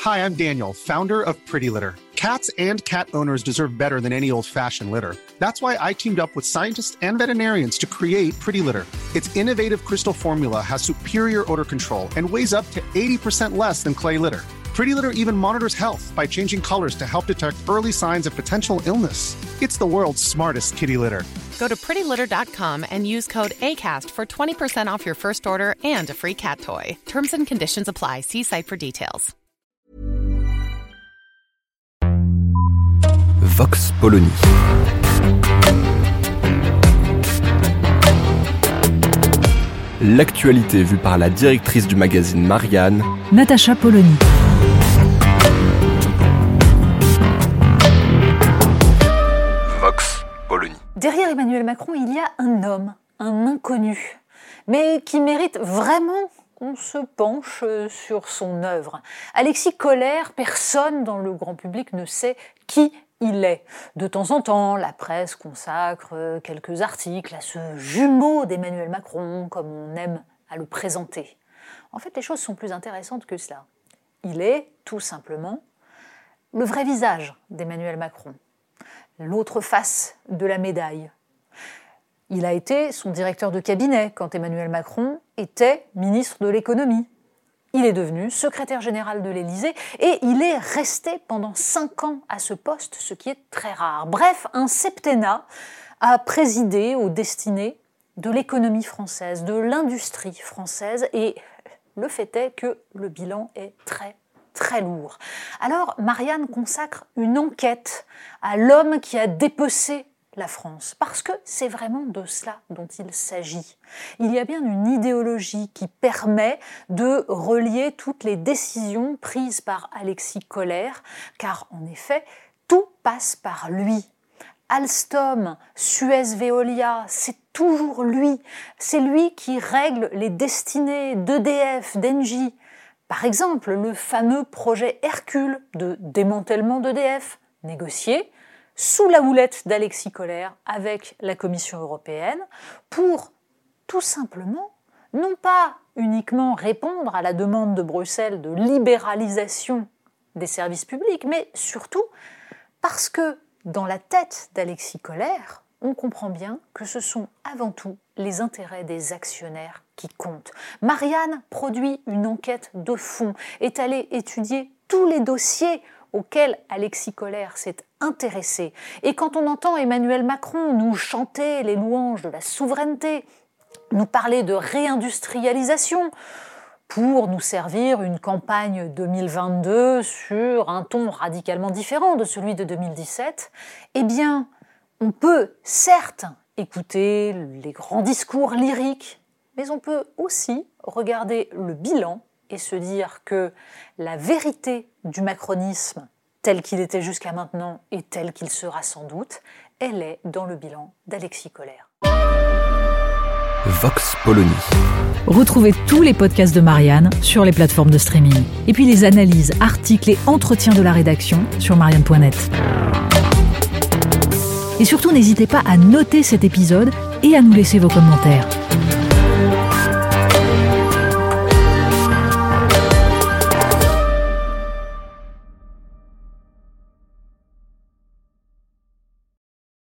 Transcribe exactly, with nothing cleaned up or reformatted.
Hi, I'm Daniel, founder of Pretty Litter. Cats and cat owners deserve better than any old-fashioned litter. That's why I teamed up with scientists and veterinarians to create Pretty Litter. Its innovative crystal formula has superior odor control and weighs up to eighty percent less than clay litter. Pretty Litter even monitors health by changing colors to help detect early signs of potential illness. It's the world's smartest kitty litter. Go to pretty litter dot com and use code ACAST for twenty percent off your first order and a free cat toy. Terms and conditions apply. See site for details. Vox Polony. L'actualité vue par la directrice du magazine Marianne, Natacha Polony. Vox Polony. Derrière Emmanuel Macron, il y a un homme, un inconnu, mais qui mérite vraiment qu'on se penche sur son œuvre. Alexis Collaert, personne dans le grand public ne sait qui il est. De temps en temps, la presse consacre quelques articles à ce jumeau d'Emmanuel Macron, comme on aime à le présenter. En fait, les choses sont plus intéressantes que cela. Il est, tout simplement, le vrai visage d'Emmanuel Macron, l'autre face de la médaille. Il a été son directeur de cabinet quand Emmanuel Macron était ministre de l'économie. Il est devenu secrétaire général de l'Élysée et il est resté pendant cinq ans à ce poste, ce qui est très rare. Bref, un septennat a présidé aux destinées de l'économie française, de l'industrie française, et le fait est que le bilan est très, très lourd. Alors, Marianne consacre une enquête à l'homme qui a dépecé la France, parce que c'est vraiment de cela dont il s'agit. Il y a bien une idéologie qui permet de relier toutes les décisions prises par Alexis Collaert, car en effet, tout passe par lui. Alstom, Suez Veolia, c'est toujours lui. C'est lui qui règle les destinées d'E D F, d'Engie. Par exemple, le fameux projet Hercule de démantèlement d'E D F, négocié sous la houlette d'Alexis Collaert avec la Commission européenne pour tout simplement, non pas uniquement répondre à la demande de Bruxelles de libéralisation des services publics, mais surtout parce que dans la tête d'Alexis Collaert, on comprend bien que ce sont avant tout les intérêts des actionnaires qui comptent. Marianne produit une enquête de fond, est allée étudier tous les dossiers auquel Alexis Collaert s'est intéressé. Et quand on entend Emmanuel Macron nous chanter les louanges de la souveraineté, nous parler de réindustrialisation, pour nous servir une campagne deux mille vingt-deux sur un ton radicalement différent de celui de deux mille dix-sept, eh bien, on peut certes écouter les grands discours lyriques, mais on peut aussi regarder le bilan et se dire que la vérité du macronisme, tel qu'il était jusqu'à maintenant et tel qu'il sera sans doute, elle est dans le bilan d'Alexis Collaert. Vox Polony. Retrouvez tous les podcasts de Marianne sur les plateformes de streaming. Et puis les analyses, articles et entretiens de la rédaction sur marianne point net. Et surtout, n'hésitez pas à noter cet épisode et à nous laisser vos commentaires.